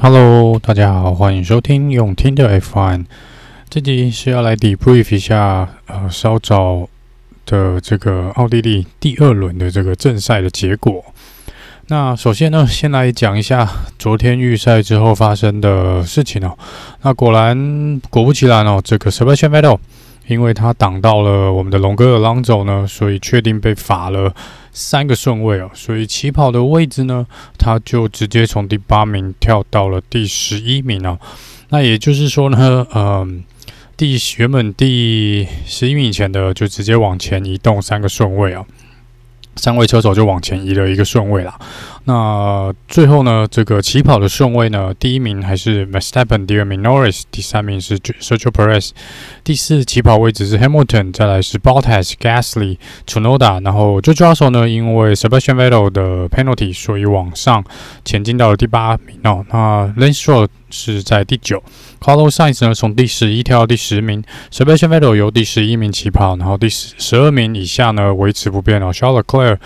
Hello， 大家好，歡迎收聽用聽的 F1。這集是要來 debrief 一下稍早的這個奧地利第二輪的這個正賽的結果。那首先呢，先來講一下昨天預賽之後發生的事情哦。那果不其然哦，這個 Sebastian Vettel 因為他擋到了我們的龍哥 Alonso 呢，所以確定被罰了3個順位哦。所以起跑的位置呢，他就直接從第8名跳到了第11名哦。那也就是說呢，原本第11名以前的就直接往前移動3個順位哦。3位車手就往前移了1個順位啦。那最後呢，這個起跑的順位呢，第1名還是 Verstappen， 第2名 Norris， 第3名是 Sergio Perez， 第4起跑位置是 Hamilton， 再來是 Bottas、Gasly、Tsunoda， 然後 George Russell 呢，因為 Sebastian Vettel 的 penalty， 所以往上前進到了第8名哦。那 Lance Stroll 是在第9。Carlos Sainz 呢，從第11跳到第10名 ，Sebastian Vettel 由第11名起跑，然後第12名以下呢維持不變哦。Charles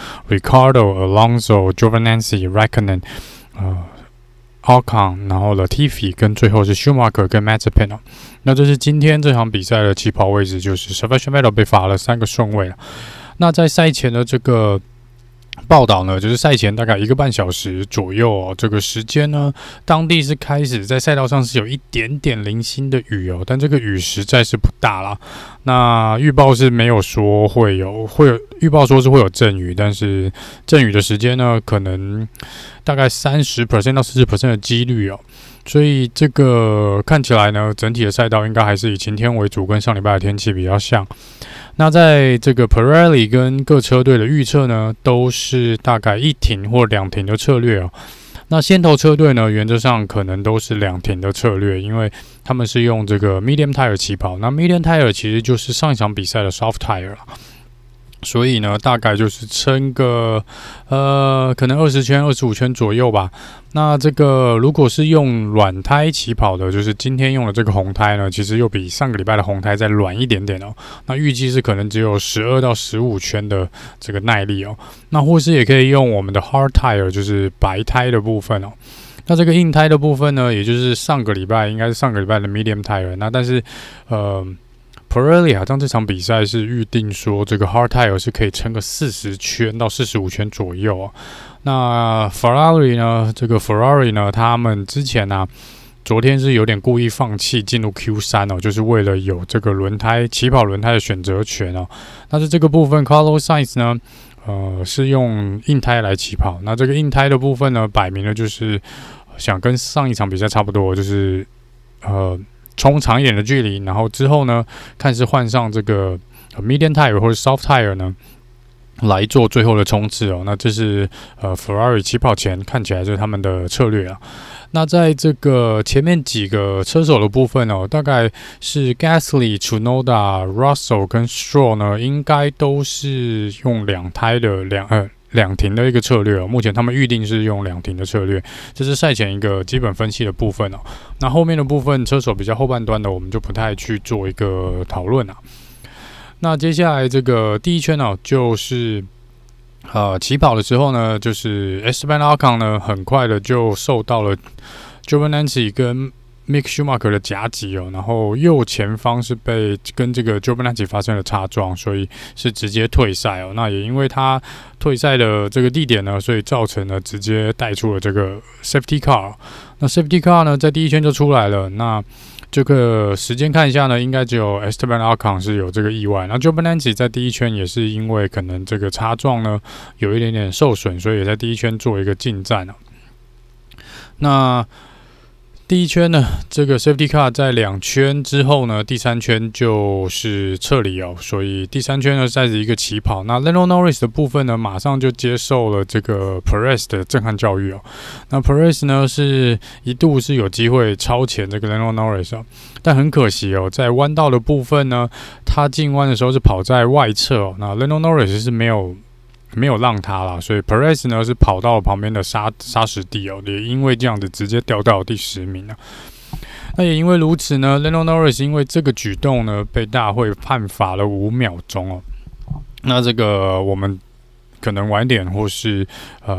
Leclerc、Ricardo、Alonso、Giovinazzi、Raikkonen、Ocon， 然後 Latifi 跟最後是 Schumacher 跟 Mazepin 哦。那這是今天這場比賽的起跑位置，就是 Sebastian Vettel 被罰了3個順位了。那在賽前的這個報道呢，就是賽前大概1個半小時左右哦，這個時間呢，當地是開始在賽道上是有一點點零星的雨哦，但這個雨實在是不大啦。那預報是沒有說會有預報說是會有陣雨，但是陣雨的時間呢，可能大概30% 到40% 的幾率哦。所以這個看起來呢，整體的賽道應該還是以晴天為主，跟上禮拜的天氣比較像。那在這個 Pirelli 跟各車隊的預測呢，都是大概1停或2停的策略哦。那先頭車隊呢，原則上可能都是2停的策略，因為他們是用這個 medium tire 起跑。那 medium tire 其實就是上一場比賽的 soft tire 啦。所以呢，大概就是撐個可能20圈、25圈左右吧。那這個如果是用軟胎起跑的，就是今天用的這個紅胎呢，其實又比上個禮拜的紅胎再軟一點點哦。那預計是可能只有12到15圈的這個耐力哦。那或是也可以用我們的 hard tire， 就是白胎的部分哦。那這個硬胎的部分呢，也就是應該是上個禮拜的 medium tire。那但是Pirelli 好像這場比賽是預定說，這個 hard tire 是可以撐個40圈到45圈左右哦。那 Ferrari 呢，他們之前昨天是有點故意放棄進入 Q3 哦，就是為了有這個起跑輪胎的選擇權哦。但是這個部分 Carlos Sainz 呢，是用硬胎來起跑。那這個硬胎的部分呢，擺明了就是想跟上一場比賽差不多，就是衝長一點的距離，然後之後呢，看是換上這個 medium tire 或者 soft tire 呢，來做最後的衝刺哦。那這是Ferrari 起跑前看起來就是他們的策略啊。那在這個前面幾個車手的部分哦，大概是 Gasly、Tsunoda、Russell 跟 Stroll 呢，應該都是用2胎的兩停的一個策略哦，目前他們預定是用2停的策略，這是賽前一個基本分析的部分哦。那後面的部分，車手比較後半段的，我們就不太去做一個討論啊。那接下來這個第一圈呢，就是起跑的時候呢，就是 Esteban Ocon 呢，很快的就受到了 Giovinazzi 跟Mick Schumacher 的夾擊哦，然後右前方是跟這個 Giovinazzi 發生了擦撞，所以是直接退賽哦。那也因為他退賽的這個地點呢，所以造成了直接帶出了這個 Safety Car。那 Safety Car 呢，在第一圈就出來了。那這個時間看一下呢，應該只有 Esteban Ocon 是有這個意外。那 Giovinazzi 在第一圈也是因為可能這個擦撞呢有一點點受損，所以也在第一圈做一個進站啊。那第一圈呢，這個 Safety Car 在2圈之後呢，第3圈就是撤離哦，所以第3圈呢再是一個起跑。那 Lando Norris 的部分呢，馬上就接受了這個 Perez 的震撼教育哦。那 Perez 呢是一度是有機會超前這個 Lando Norris 哦，但很可惜哦，在彎道的部分呢，他進彎的時候是跑在外側哦，那 Lando Norris 是沒有讓他啦，所以 Perez 呢是跑到了旁邊的沙石地哦，也因為這樣子直接掉到第10名了。那也因為如此呢 ，Lando Norris 因為這個舉動呢，被大會判罰了5秒鐘哦。那這個我們可能晚點或是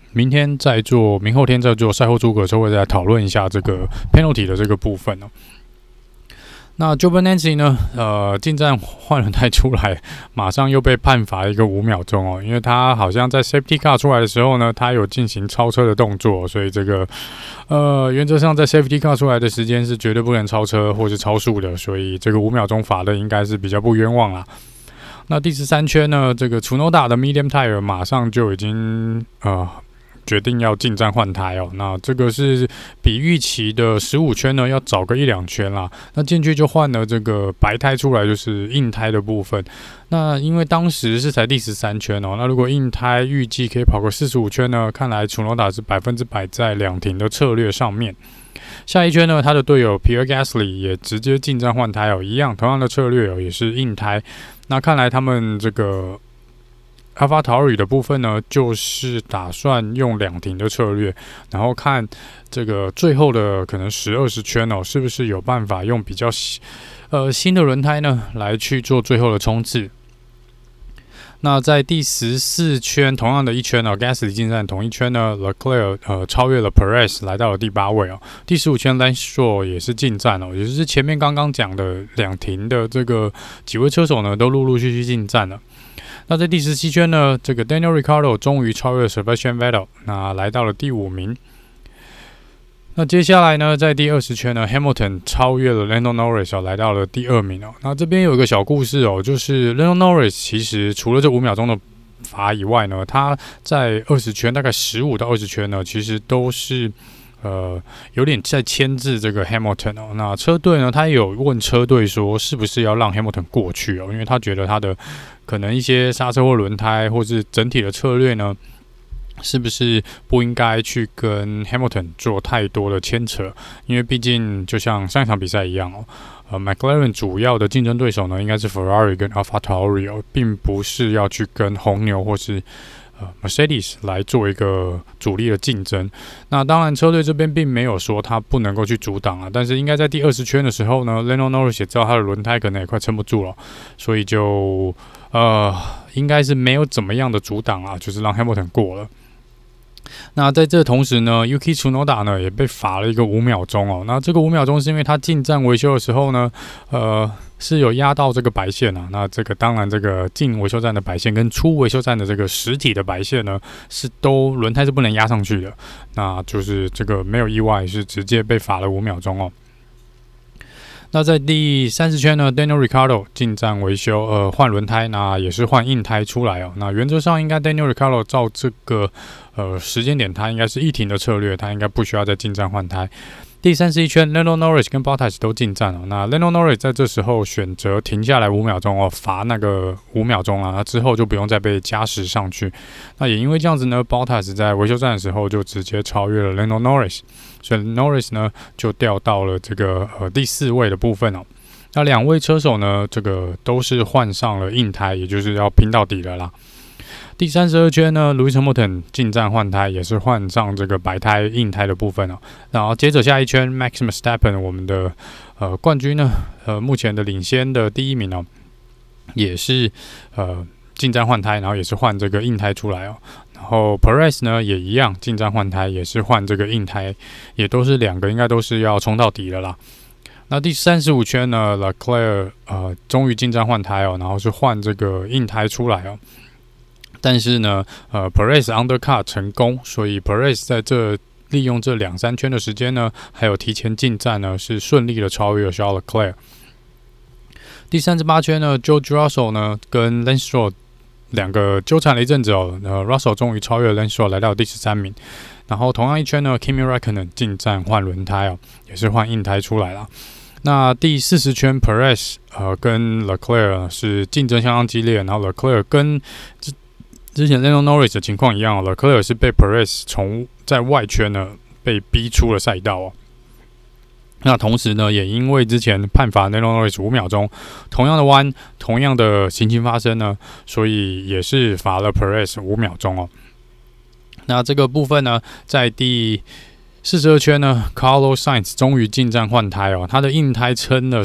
明後天再做賽後諸葛的時候，會再討論一下這個 penalty 的這個部分哦。那 Giovinazzi 呢？進站換輪胎出來，馬上又被判罰一個5秒鐘哦，因為他好像在 Safety Car 出來的時候呢，他有進行超車的動作，所以這個原則上在 Safety Car 出來的時間是絕對不能超車或是超速的，所以這個5秒鐘罰的應該是比較不冤枉啦。那第13圈呢，這個 Tsunoda 的 Medium Tire 馬上就已經決定要進站換胎哦，那這個是比預期的15圈呢要早個1-2圈啦。那進去就換了這個白胎出來，就是硬胎的部分。那因為當時是才第13圈哦，那如果硬胎預計可以跑個45圈呢，看來Tsunoda是100%在兩停的策略上面。下一圈呢，他的隊友 Pierre Gasly 也直接進站換胎哦，一樣同樣的策略哦，也是硬胎。那看來他們這個AlphaTauri 的部分呢，就是打算用兩停的策略，然後看這個最後的可能10-20圈哦，是不是有辦法用比較新的輪胎呢，來去做最後的衝刺。那在第14圈，同樣的一圈哦 ，Gasly 進站同一圈呢 ，Leclerc 超越了 Perez 來到了第8位哦。第15圈 Lance Stroll 也是進站哦，也就是前面剛剛講的兩停的這個幾位車手呢，都陸陸續續進站了。那在第17圈呢，這個 Daniel Ricciardo 終於超越了 Sebastian Vettel， 那來到了第5名。那接下來呢，在第20圈呢 ，Hamilton 超越了 Lando Norris 來到了第2名哦。那這邊有一個小故事哦，就是 Lando Norris 其實除了這5秒鐘的罰以外呢，他在20圈大概15到20圈呢，其實都是有點在牽制這個 Hamilton 哦。那車隊呢，他也有問車隊說，是不是要讓 Hamilton 過去哦？因為他覺得他的可能一些剎車或輪胎，或是整體的策略呢，是不是不應該去跟 Hamilton 做太多的牽扯？因為畢竟就像上一場比賽一樣哦，McLaren 主要的競爭對手呢，應該是 Ferrari 跟 AlphaTauri 哦，並不是要去跟紅牛或是Mercedes 來做一個主力的競爭。那當然，車隊這邊並沒有說他不能夠去阻擋啊，但是應該在第20圈的時候呢 ，Lando Norris 也知道他的輪胎可能也快撐不住了，所以就應該是沒有怎麼樣的阻擋啊，就是讓 Hamilton 過了。那在這同時呢 ，Yuki Tsunoda 呢也被罰了一個5秒鐘哦。那這個5秒鐘是因為他進站維修的時候呢，是有壓到這個白線啊。那這個當然，這個進維修站的白線跟出維修站的這個實體的白線呢，是都輪胎是不能壓上去的。那就是這個沒有意外，是直接被罰了5秒鐘哦。那在第30圈呢 ，Daniel Ricciardo 進站維修，換輪胎，那也是換硬胎出來哦。那原則上應該 Daniel Ricciardo 照這個時間點，他應該是一停的策略，他應該不需要再進站換胎。第31圈 ，Lando Norris 跟 Bottas 都進站了。那 Lando Norris 在這時候選擇停下來5秒鐘哦，罰那個5秒鐘了。那之後就不用再被加時上去。那也因為這樣子呢 ，Bottas 在維修站的時候就直接超越了 Lando Norris， 所以 Norris 呢就掉到了這個第4位的部分哦。那兩位車手呢，這個都是換上了硬胎，也就是要拼到底了啦。第32圈呢 ，Lewis Hamilton 進站換胎，也是換上這個白胎硬胎的部分哦。然後接着下一圈 ，Max Verstappen 我們的冠軍呢，目前的領先的第1名哦，也是進站換胎，然後也是換這個硬胎出來哦。然後 Perez 呢也一樣進站換胎，也是換這個硬胎，也都是兩個應該都是要衝到底的啦。那第35圈呢 ，Leclerc 終於進站換胎哦，然後是換這個硬胎出來哦。但是呢，Perez undercut 成功，所以 Perez 在利用這2-3圈的時間呢，還有提前進站呢，是順利的超越了 Charles Leclerc。第38圈呢 ，George Russell 呢跟 Lance Stroll 兩個糾纏了一陣子哦，Russell 終於超越了 Lance Stroll 來到第13名。然後同樣一圈呢 ，Kimi Räikkönen 進站換輪胎哦，也是換硬胎出來了。那第40圈 ，Perez 跟 Leclerc 是競爭相當激烈，然後 Leclerc 跟之前 Lando Norris 的情況一樣 ，Leclerc 是被 Perez 在外圈呢被逼出了賽道哦。那同時呢，也因為之前判罰 Lando Norris 5秒鐘，同樣的彎，同樣的情形發生呢，所以也是罰了 Perez 5秒鐘哦。那這個部分呢，在第42圈呢 ，Carlos Sainz 終於進站換胎哦，他的硬胎撐了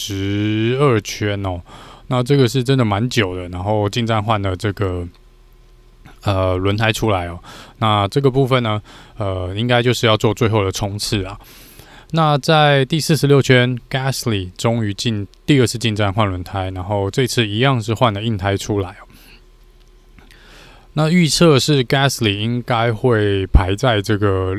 42圈哦。那這個是真的蠻久的，然後進站換了這個輪胎出來哦。那這個部分呢，應該就是要做最後的衝刺啊。那在第46圈 ，Gasly 終於第二次進站換輪胎，然後這次一樣是換了硬胎出來哦。那預測是 Gasly 應該會排在這個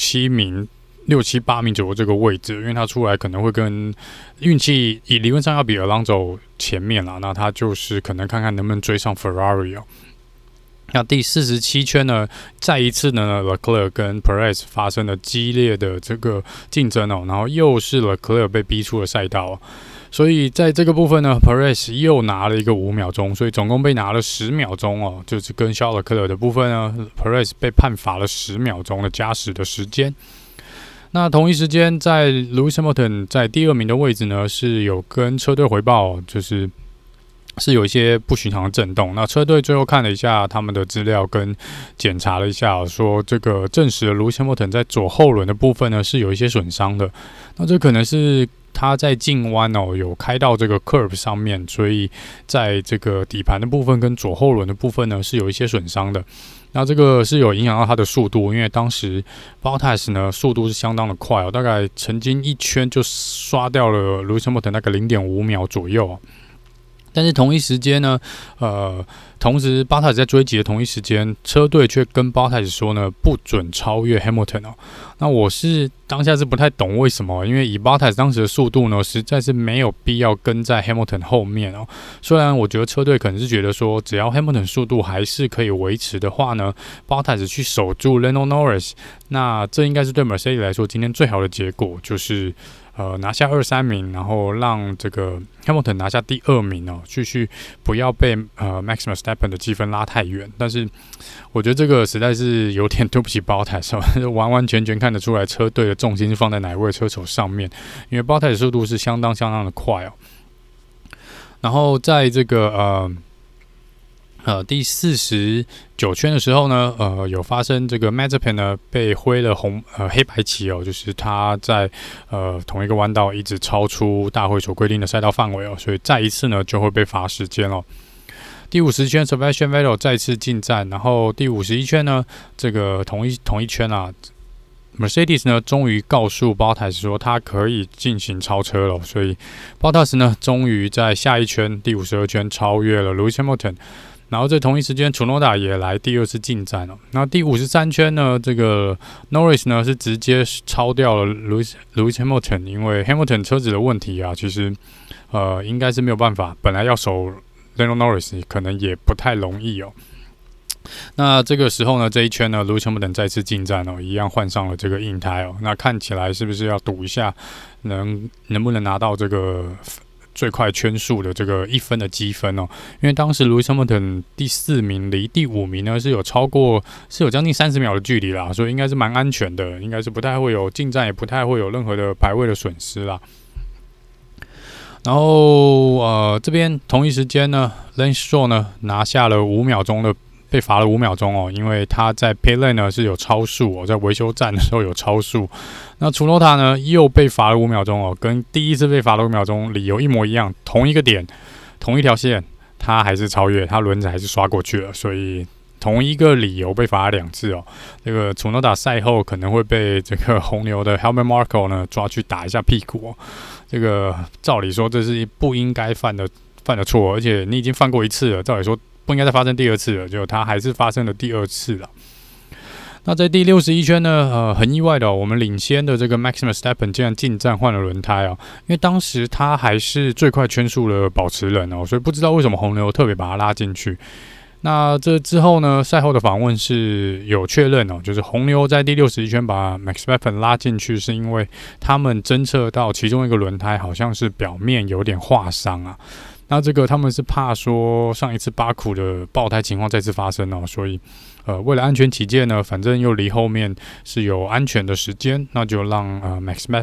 6、7、8名左右這個位置，因為他出來可能會跟運氣理論上要比 Alonso 前面啦，那他就是可能看看能不能追上 Ferrari 哦。那第47圈呢，再一次呢 Leclerc 跟 Perez 發生了激烈的這個競爭哦，然後又是 Leclerc 被逼出了賽道哦，所以在這個部分呢 Perez 又拿了一個5秒鐘，所以總共被拿了10秒鐘哦，就是跟Charles Leclerc的部分呢 Perez 被判罰了10秒鐘的加時的時間。那同一時間，在 Lewis Hamilton 在第2名的位置呢，是有跟車隊回報，是有一些不尋常的震動。那車隊最後看了一下他們的資料，跟檢查了一下，說這個證實了 Lewis Hamilton 在左後輪的部分呢是有一些損傷的。那這可能是他在進彎哦有開到這個 curb 上面，所以在這個底盤的部分跟左後輪的部分呢是有一些損傷的。那這個是有影響到他的速度，因為當時 Bottas 呢速度是相當的快哦，大概曾經一圈就刷掉了 Lewis Hamilton 那個 0.5 秒左右哦。但是同一時間呢，同時 Bottas 在追擊的同一時間，車隊卻跟 Bottas 說呢，不准超越 Hamilton 哦。那我是當下是不太懂為什麼，因為以 Bottas 當時的速度呢，實在是沒有必要跟在 Hamilton 後面哦。雖然我覺得車隊可能是覺得說，只要 Hamilton 速度還是可以維持的話呢 ，Bottas 去守住 Lando Norris， 那這應該是對 Mercedes 來說今天最好的結果，就是拿下2、3名，然後讓這個 Hamilton 拿下第2名哦，繼續不要被Max Verstappen 的積分拉太遠。但是我覺得這個實在是有點對不起 Bottas， 完完全全看得出來車隊的重心是放在哪一位車手上面，因為 Bottas 的速度是相當的快哦。然後在這個第49圈的時候呢，有發生這個 Mazepin 呢被揮了黑白旗哦，就是他在同一個彎道一直超出大會所規定的賽道範圍哦，所以再一次呢就會被罰時間哦。第50圈 Sebastian Vettel 再次進站，然後第51圈呢，這個同一圈啊 ，Mercedes 呢終於告訴 Bottas 說他可以進行超車了，所以 Bottas 呢終於在下一圈第52圈超越了 Lewis Hamilton。然後在同一時間 Tsunoda 也來第2次進站了。那第53圈呢，這個 Norris 呢是直接超掉了 Lewis Hamilton， 因為 Hamilton 車子的問題啊，其實應該是沒有辦法，本來要守 Lando Norris 可能也不太容易哦。那這個時候呢，這一圈呢 Lewis Hamilton 再次進站哦，一樣換上了這個硬胎哦。那看起來是不是要賭一下，能不能拿到這個最快圈數的這個1分的積分哦，因為當時 Lewis Hamilton 第4名離第5名呢是有將近30秒的距離啦，所以應該是蠻安全的，應該是不太會有進站，也不太會有任何的排位的損失啦。然後這邊同一時間呢 Lance Stroll 呢拿下了5秒鐘的。被罰了5秒鐘哦，因為他在 pit lane 呢是有超速哦，在維修站的時候有超速。那 Tsunoda 呢又被罰了5秒鐘哦，跟第一次被罰了5秒鐘理由一模一樣，同一個點，同一條線，他還是超越，他輪子還是刷過去了，所以同一個理由被罰了2次哦。這個 Tsunoda 賽後可能會被這個紅牛的 Helmut Marko 呢抓去打一下屁股哦。這個照理說這是不應該犯的錯，而且你已經犯過1次了，照理說不應該再發生第2次了，結果它還是發生了第2次了。那在第61圈呢，很意外的我們領先的這個 Max Verstappen 竟然進站換了輪胎哦，因為當時他還是最快圈數的保持人哦，所以不知道為什麼紅牛特別把他拉進去。那這之後呢，賽後的訪問是有確認哦，就是紅牛在第61圈把 Max Verstappen 拉進去，是因為他們偵測到其中一個輪胎好像是表面有點劃傷啊。那這個他們是怕說上一次巴庫的爆胎情況再次發生哦，所以為了安全起見呢，反正又離後面是有安全的時間，那就讓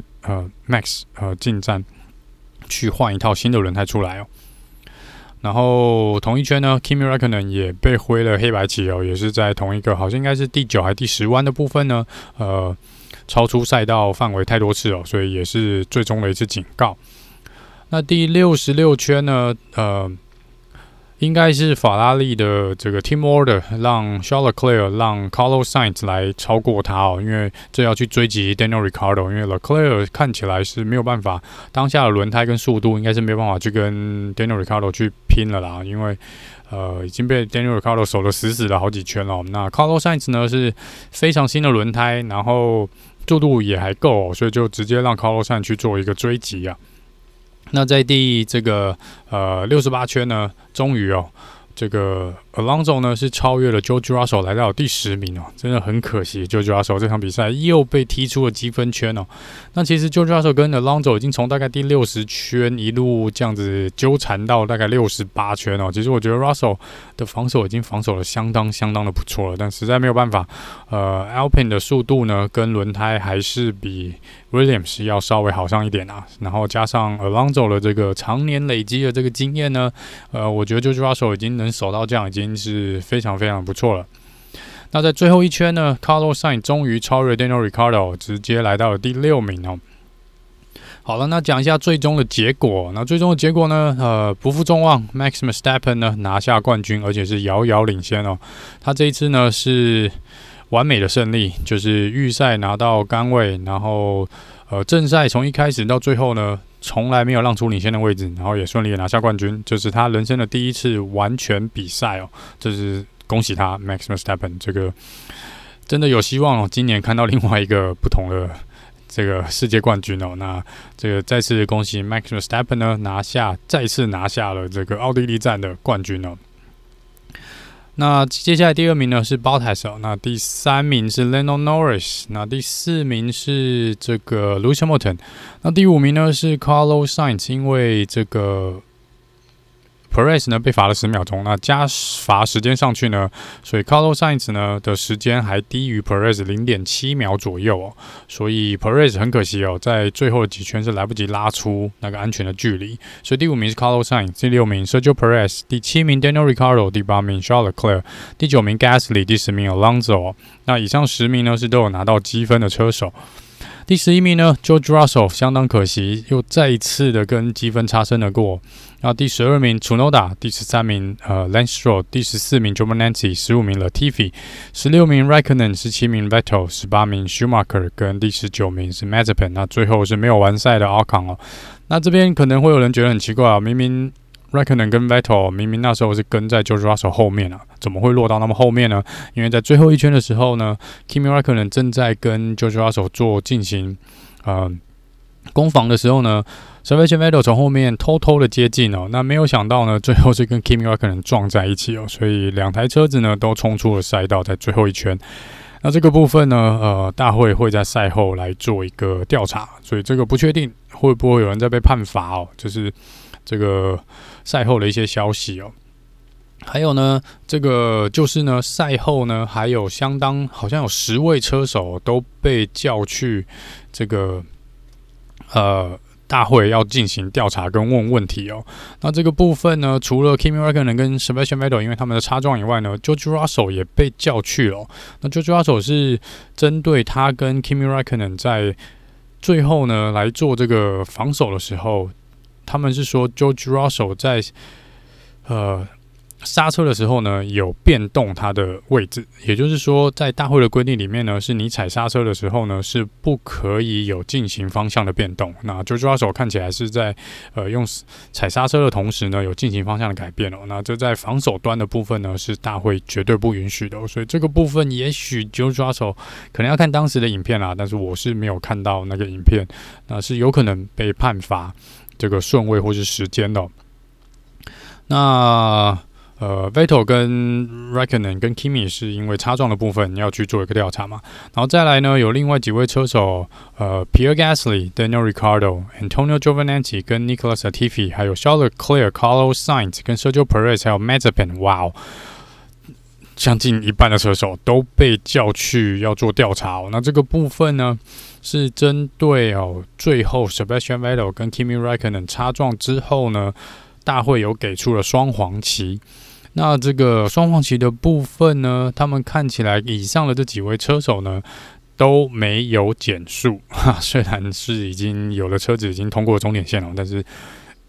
Max 進站去換一套新的輪胎出來哦。然後同一圈呢 Kimi Räikkönen 也被揮了黑白旗哦，也是在同一個好像應該是第9還第10彎的部分呢，超出賽道範圍太多次哦，所以也是最終的一次警告。那第66圈呢， 應該是法拉利的這個 team order 讓 Charles Leclerc 讓 Carlos Sainz 來超過他哦，因為這要去追擊 Daniel Ricciardo， 因為 Leclerc 看起來是沒有辦法，當下的輪胎跟速度應該是沒有辦法去跟 Daniel Ricciardo 去拼了啦，因為已經被 Daniel Ricciardo 守得死死的好幾圈了。那 Carlos Sainz 呢是非常新的輪胎，然後速度也還夠哦，所以就直接讓 Carlos Sainz 去做一個追擊啊。那在第這個68圈呢，終於哦，這個 Alonso 呢是超越了 George Russell 來到了第10名哦，真的很可惜 ，George Russell 這場比賽又被踢出了積分圈哦。那其實 George Russell 跟 Alonso 已經從大概第60圈一路這樣子糾纏到大概68圈哦。其實我覺得 Russell 的防守已經防守的相當的不錯了，但實在沒有辦法，Alpine 的速度呢跟輪胎還是比 Williams 要稍微好上一點啊。然後加上 Alonso 的這個常年累積的這個經驗呢，我覺得 George Russell 已經能守到這樣，已經是非常不錯了。那在最後一圈呢 ，Carlos Sainz 終於超越 Daniel Ricciardo， 直接來到了第6名哦。好了，那講一下最終的結果。那最終的結果呢，不負眾望 ，Max Verstappen 呢拿下冠軍，而且是遙遙領先哦。他這一次呢是完美的勝利，就是預賽拿到桿位，然後正賽從一開始到最後呢，從來沒有讓出領先的位置，然後也順利的拿下冠軍，這是他人生的第一次完全比賽哦，這是恭喜他 Max Verstappen， 這個真的有希望哦，今年看到另外一個不同的這個世界冠軍哦。那這個再次恭喜 Max Verstappen 呢再次拿下了這個奧地利站的冠軍哦。那接下來第2名呢是 Bottas 哦，那第3名是 Lando Norris， 那第4名是這個 Lewis Hamilton， 那第5名呢是 Carlos Sainz， 因為這個 Perez 呢被罰了10秒鐘，那加罰時間上去呢，所以 Carlos Sainz 呢的時間還低於 Perez 0.7 秒左右哦，所以 Perez 很可惜哦，在最後的幾圈是來不及拉出那個安全的距離，所以第5名是 Carlos Sainz， 第6名 Sergio Perez， 第7名 Daniel Ricciardo， 第8名 Charles Leclerc， 第9名 Gasly， 第10名 Alonso 哦。那以上10名呢是都有拿到積分的車手。第11名呢 George Russell 相當可惜，又再一次的跟積分擦身而過。然後第12名 Tsunoda， 第13名Lance Stroll， 第14名 Giovinazzi， 15名 Latifi， 16名 Raikkonen， 17名 Vettel， 18名 Schumacher， 跟第19名是 Mazepin。那最後是沒有完賽的 Ocon 哦。那這邊可能會有人覺得很奇怪啊，明明 Raikkonen 跟 Vettel 明明那時候是跟在 George Russell 後面啊，怎麼會落到那麼後面呢？因為在最後一圈的時候呢 ，Kimi Raikkonen 正在跟 George Russell 進行攻防的時候呢 ，Sebastian Vettel 從後面偷的接近哦，那沒有想到呢，最後是跟 Kimi Raikkonen 撞在一起哦，所以兩台車子呢都衝出了賽道，在最後一圈。那這個部分呢，大會會在賽後來做一個調查，所以這個不確定會不會有人在被判罰哦，就是這個賽後的一些消息哦。還有呢，這個就是呢，賽後呢，還有好像有10位車手都被叫去這個大會要進行調查跟問問題哦。那這個部分呢，除了 Kimi Raikkonen 跟 Sebastian Vettel 因為他們的擦撞以外呢 ，George Russell 也被叫去了哦。那 George Russell 是針對他跟 Kimi Raikkonen 在最後呢來做這個防守的時候，他們是說 George Russell 在剎車的時候呢，有變動它的位置，也就是說，在大會的規定裡面呢，是你踩剎車的時候呢，是不可以有進行方向的變動。那 George Russell 看起來是在用踩剎車的同時呢，有進行方向的改變哦。那這在防守端的部分呢，是大會絕對不允許的哦。所以這個部分，也許 George Russell 可能要看當時的影片啦，但是我是沒有看到那個影片，那是有可能被判罰這個順位或是時間的哦。那Vettel 跟 Raikkonen 跟 Kimi 是因為擦撞的部分要去做一個調查嘛，然後再來呢，有另外幾位車手Pierre Gasly、Daniel Ricciardo、Antonio Giovinazzi 跟 Nicholas Latifi， 還有 Charles Leclerc、Carlos Sainz 跟 Sergio Perez 還有 Mazepin， 哇哦，將近一半的車手都被叫去要做調查哦。那這個部分呢，是針對最後 Sebastian Vettel 跟 Kimi Raikkonen 擦撞之後呢，大會有給出了雙黃旗。那這個雙黃旗的部分呢，他們看起來以上的這幾位車手呢都沒有減速，雖然是已經有的車子已經通過終點線了，但是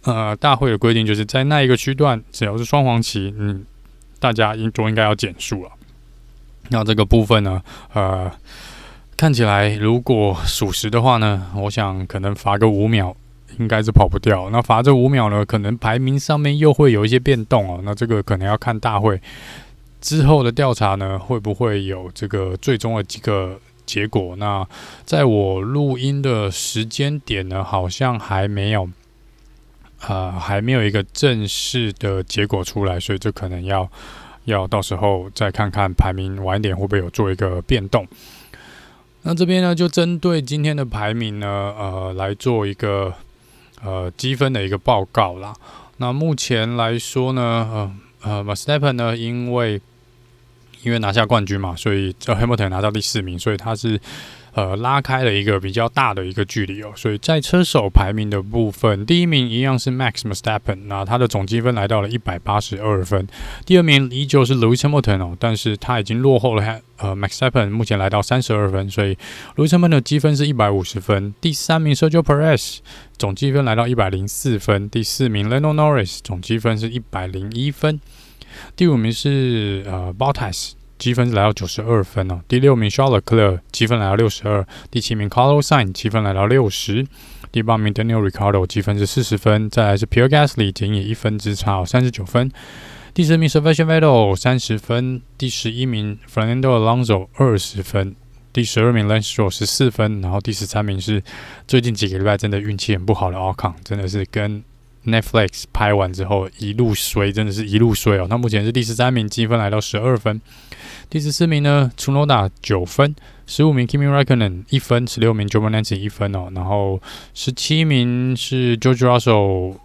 大會的規定就是在那一個區段，只要是雙黃旗，大家都應該要減速了。那這個部分呢，看起來如果屬實的話呢，我想可能罰個5秒，應該是跑不掉。那罰這5秒呢，可能排名上面又會有一些變動哦。那這個可能要看大會之後的調查呢，會不會有這個最終的幾個結果。那在我錄音的時間點呢，好像還沒有一個正式的結果出來，所以這可能要到時候再看看排名晚一點會不會有做一個變動。那這邊呢，就針對今天的排名呢，來做一個積分的一個報告啦。那目前來說呢，Verstappen 呢，因為拿下冠軍嘛，所以Hamilton 拿到第4名，所以他是拉開了一個比較大的一個距離哦。所以在車手排名的部分，第1名一樣是 Max Verstappen， 那他的總積分來到了182分。第2名依舊是 Lewis Hamilton 哦，但是他已經落後了Max Verstappen， 目前來到32分，所以 Lewis Hamilton 的積分是150分。第3名 Sergio Perez 總積分來到104分。第4名 Lando Norris 總積分是101分。第5名是Bottas， 積分是來到92分哦。第6名 Charles Leclerc 積分來到62。第7名 Carlos Sainz 積分來到60。第8名 Daniel Ricciardo 積分是40分。再來是 Pierre Gasly 僅以1分之差39分。第10名 Sebastian Vettel 30分。第11名 Fernando Alonso 20分。第12名 Lance Stroll 14分。然後第13名是最近幾個禮拜真的運氣很不好的 Ocon， 真的是跟Netflix 拍完之後一路衰，真的是一路衰哦。他目前是第13名，積分來到12分。第14名呢 Tsunoda 9分。15名 Kimi Räikkönen 1分。16名 Joe Nancy 1分哦。然後17名是 George Russell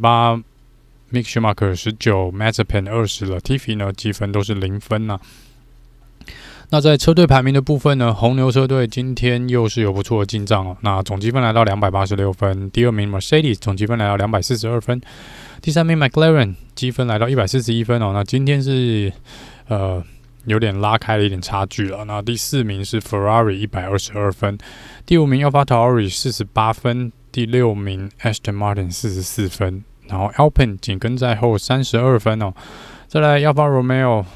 18。Mick Schumacher 19。Mazepin 20了。Latifi 呢積分都是0分啊。那在車隊排名的部分呢，紅牛車隊今天又是有不錯的進賬哦。那總積分來到286分。第2名 Mercedes 總積分來到242分。第3名 McLaren 積分來到141分哦。那今天是有點拉開了一點差距了。那第4名是 Ferrari 122分。第5名 AlphaTauri 48分。第6名 Aston Martin 44分。然後 Alpine 緊跟在後32分哦。再來 Alfa Romeo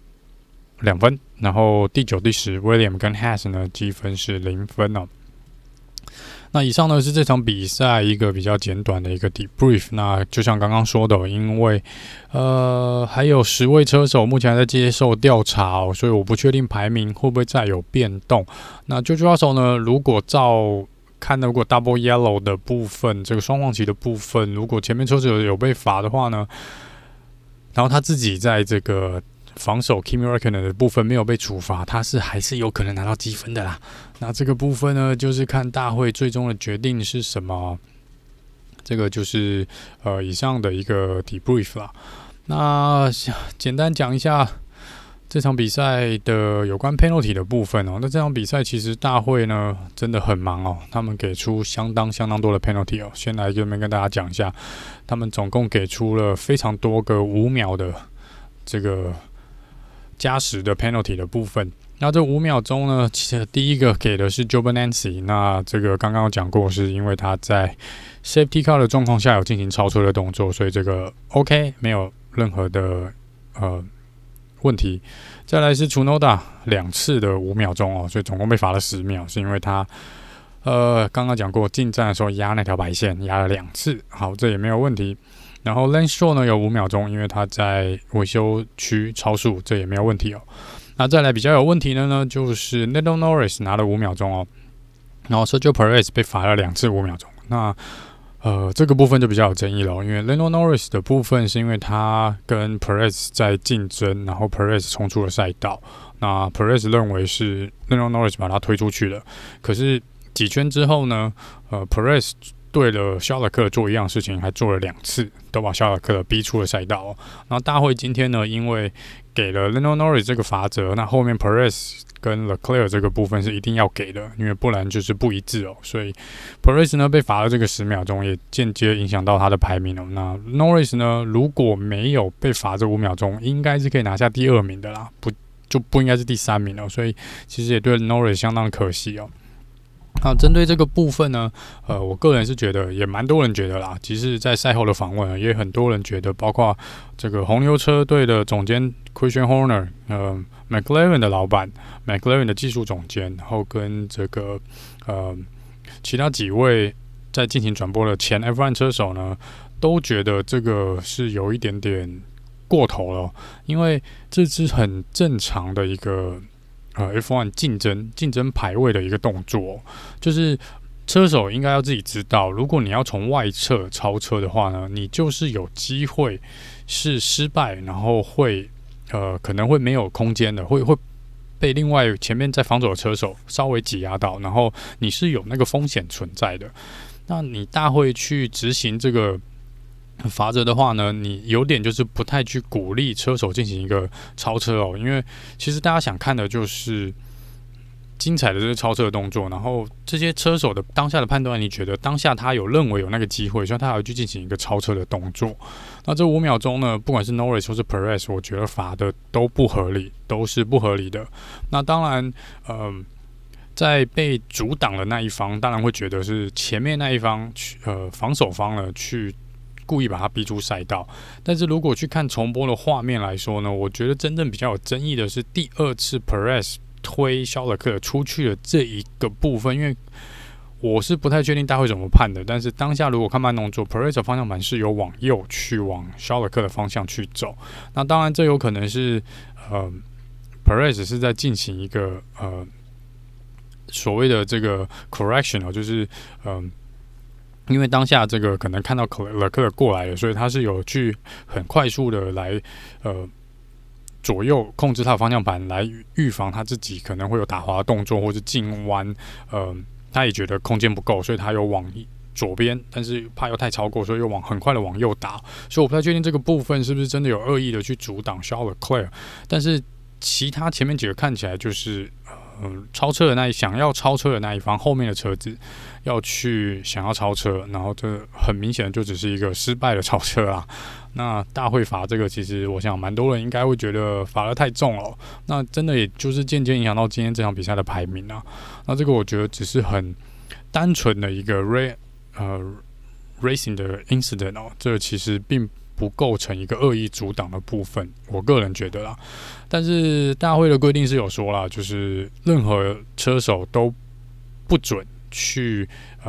2分。然後第9、第10 Williams 跟 Haas 呢積分是0分哦。那以上呢是這場比賽一個比較簡短的一個 debrief。那就像剛剛說的，因為還有10位車手目前還在接受調查哦，所以我不確定排名會不會再有變動。那George Russell呢，如果照看如果 Double Yellow 的部分，這個雙黃旗的部分，如果前面車手有被罰的話呢，然後他自己在這個防守 Kimi Räikkönen 的部分沒有被處罰，他還是有可能拿到積分的啦。那這個部分呢，就是看大會最終的決定是什麼。這個就是以上的一個 debrief 啦。那簡單講一下這場比賽的有關 penalty 的部分哦。那這場比賽其實大會呢真的很忙哦，他們給出相當多的 penalty 哦。先來這邊跟大家講一下，他們總共給出了非常多個5秒的這個加時的 penalty 的部分。那這5秒鐘呢，其實第一個給的是 Joe Nancy， 那這個剛剛有講過，是因為他在 safety car 的狀況下有進行超車的動作，所以這個 OK， 沒有任何的問題。再來是 Tsunoda 2次的5秒鐘哦，所以總共被罰了10秒，是因為他剛剛講過進站的時候壓那條白線壓了2次，好，這也沒有問題。然後 Lance Stroll 呢有5秒鐘，因為他在維修區超速，這也沒有問題哦。那再來比較有問題的呢，就是 Lando Norris 拿了5秒鐘哦，然後 Sergio Perez 被罰了2次5秒鐘。那這個部分就比較有爭議了，因為 Lando Norris 的部分是因為他跟 Perez 在競爭，然後 Perez 衝出了賽道，那 Perez 認為是 Lando Norris 把他推出去了，可是幾圈之後呢，Perez 對了肖勒克做一樣事情，還做了2次，都把肖勒克逼出了賽道哦。然後大會今天呢，因為給了 Lando Norris 這個罰則，那後面 Perez 跟 Leclerc 這個部分是一定要給的，因為不然就是不一致哦。所以 Perez 呢被罰了這個10秒鐘，也間接影響到他的排名哦。那 Norris 呢，如果沒有被罰這5秒鐘，應該是可以拿下第2名的啦，就不應該是第3名哦。所以其實也對 Norris 相當可惜哦。 那針對這個部分呢，我個人是覺得也蠻多人覺得啦，其實在賽後的訪問也很多人覺得，包括這個紅牛車隊的總監 Christian Horner，McLaren 的老闆 ，McLaren 的技術總監，然後跟這個其他幾位在進行轉播的前 F1 車手呢，都覺得這個是有一點點過頭了，因為這是很正常的一個。F1 競爭排位的一個動作，就是車手應該要自己知道，如果你要從外側超車的話呢，你就是有機會是失敗，然後會可能會沒有空間的，會被另外前面在防守的車手稍微擠壓到，然後你是有那個風險存在的。那你大會去執行這個罰則的話呢，你有點就是不太去鼓勵車手進行一個超車哦，因為其實大家想看的就是精彩的這個超車的動作，然後這些車手的當下的判斷，你覺得當下他有認為有那個機會，所以他要去進行一個超車的動作。那這5秒鐘呢，不管是 Norris 或是 Perez， 我覺得罰的都不合理，都是不合理的。那當然，在被阻擋的那一方，當然會覺得是前面那一方防守方呢去故意把他逼出賽道，但是如果去看重播的畫面來說呢，我覺得真正比較有爭議的是第2次 Perez 推肖勒克出去的這一個部分，因為我是不太確定大會怎麼判的，但是當下如果看慢動作 ，Perez 的方向盤是有往右去往肖勒克的方向去走，那當然這有可能是Perez 是在進行一個所謂的這個 correction 就是因為當下這個可能看到勒克過來了，所以他是有去很快速的來左右控制他的方向盤，來預防他自己可能會有打滑的動作或是進彎。他也覺得空間不夠，所以他又往左邊，但是怕又太超過，所以又很快的往右打。所以我不太確定這個部分是不是真的有惡意的去阻擋肖勒克，但是其他前面幾個看起來就是超車的想要超車的那一方，後面的車子要去想要超車，然後這很明顯的就只是一個失敗的超車啊。那大會罰這個，其實我想蠻多人應該會覺得罰得太重了，那真的也就是漸漸影響到今天這場比賽的排名啊。那這個我覺得只是很單純的一個racing 的 incident 哦，這其實並不構成一個惡意阻擋的部分，我個人覺得啦。但是大會的規定是有說啦，就是任何車手都不准去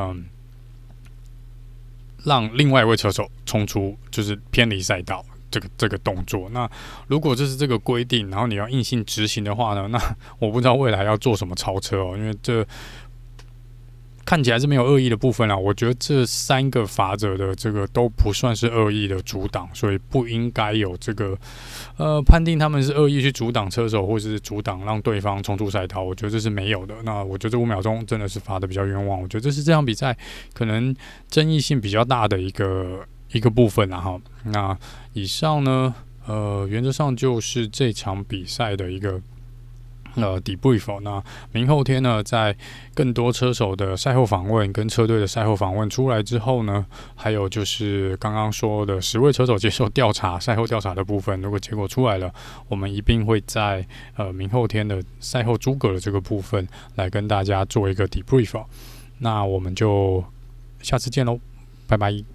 讓另外一位車手衝出，就是偏離賽道這個動作。那如果這是這個規定，然後你要硬性執行的話呢，那我不知道未來要做什麼超車哦，因為這看起來是沒有惡意的部分啦，我覺得這3個罰則的這個都不算是惡意的阻擋，所以不應該有這個判定他們是惡意去阻擋車手，或是阻擋讓對方衝出賽道，我覺得這是沒有的。那我覺得這5秒鐘真的是罰的比較冤枉，我覺得這是這場比賽可能爭議性比較大的一個部分啦哈。那以上呢，原則上就是這場比賽的一個debrief。那明後天呢，在更多車手的賽後訪問跟車隊的賽後訪問出來之後呢，還有就是剛剛說的10位車手接受調查、賽後調查的部分，如果結果出來了，我們一定會在明後天的賽後諸葛的這個部分來跟大家做一個 debrief。那我們就下次見嘍，拜拜。